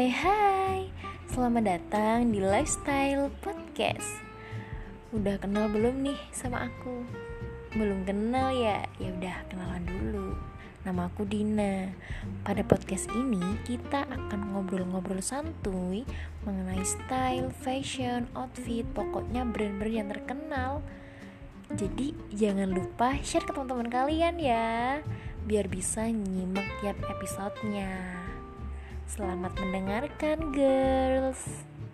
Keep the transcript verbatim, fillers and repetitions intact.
Hai hai, selamat datang di Lifestyle Podcast. Udah kenal belum nih sama aku? Belum kenal ya? Ya udah kenalan dulu. Nama aku Dina. Pada podcast ini kita akan ngobrol-ngobrol santuy mengenai style, fashion, outfit, pokoknya brand-brand yang terkenal. Jadi jangan lupa share ke teman-teman kalian ya, biar bisa nyimak tiap episodenya. Selamat mendengarkan, girls.